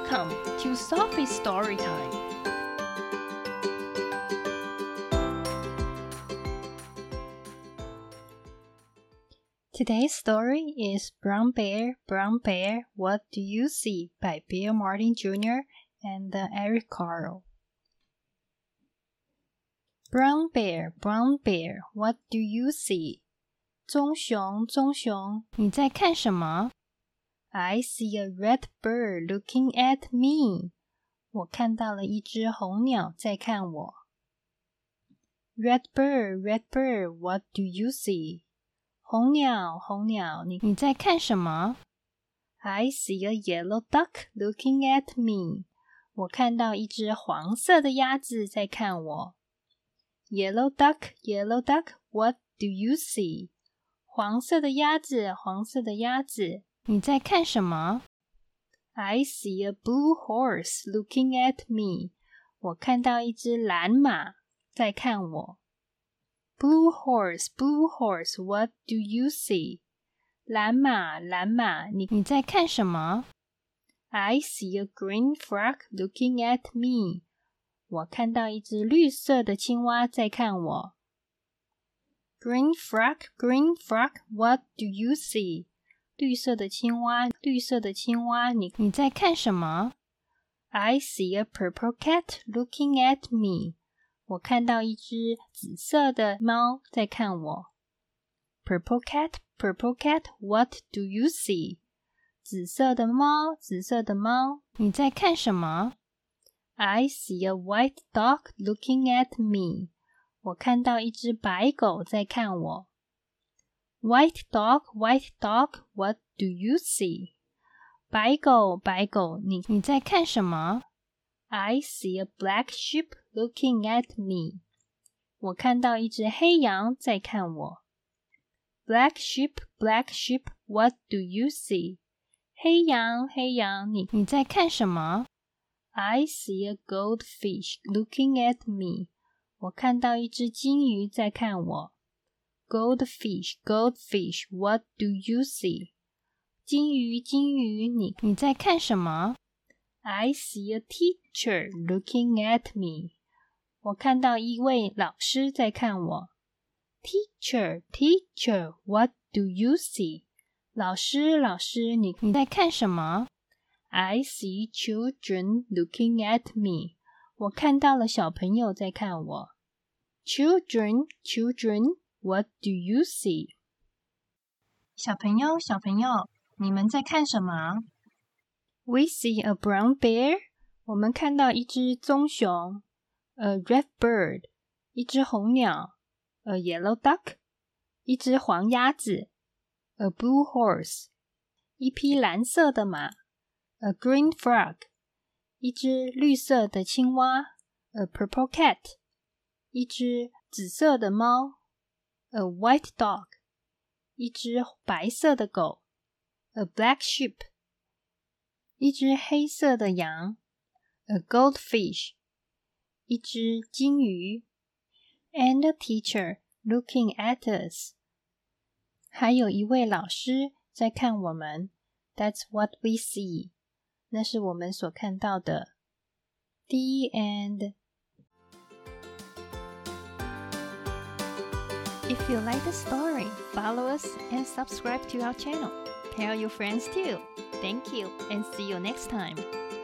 Welcome to Sophie's Story Time. Today's story is Brown Bear, What Do You See? By Bill Martin Jr. and Eric Carle. Brown Bear, what do you see? 棕熊，你在看什么？ I see a red bird looking at me. 我看到了一只红鸟在看我。Red bird, what do you see? 红鸟，你在看什么？ I see a yellow duck looking at me. 我看到一只黄色的鸭子在看我。Yellow duck, what do you see? 黄色的鸭子，你在看什么？ I see a blue horse looking at me. 我看到一只蓝马在看我。Blue horse, what do you see? 蓝马，你在看什么？ I see a green frog looking at me. 我看到一只绿色的青蛙在看我。Green frog, what do you see? 绿色的青蛙，你在看什么？ I see a purple cat looking at me. 我看到一只紫色的猫在看我。Purple cat, what do you see? 紫色的猫，你在看什么？ I see a white dog looking at me. 我看到一只白狗在看我。White dog, what do you see? 白狗，你在看什么？ I see a black sheep looking at me. 我看到一只黑羊在看我。Black sheep, what do you see? 黑羊，你在看什么？ I see a goldfish looking at me. 我看到一只金鱼在看我。Goldfish, what do you see? 金鱼，你在看什么？ I see a teacher looking at me. 我看到一位老师在看我。Teacher, what do you see? 老师，你在看什么？ I see children looking at me. 我看到了小朋友在看我。Children, what do you see? 小朋友，你们在看什么？ We see a brown bear. 我们看到一只棕熊。A red bird. 一只红鸟。A yellow duck. 一只黄鸭子。A blue horse. 一匹蓝色的马。A green frog. 一只绿色的青蛙。A purple cat. 一只紫色的猫。A white dog. 一只白色的狗。A black sheep. 一只黑色的羊。A goldfish. 一只金鱼。And a teacher looking at us. 还有一位老师在看我们。That's what we see. 那是我们所看到的。The end. If you like the story, follow us and subscribe to our channel. Tell your friends too. Thank you and see you next time.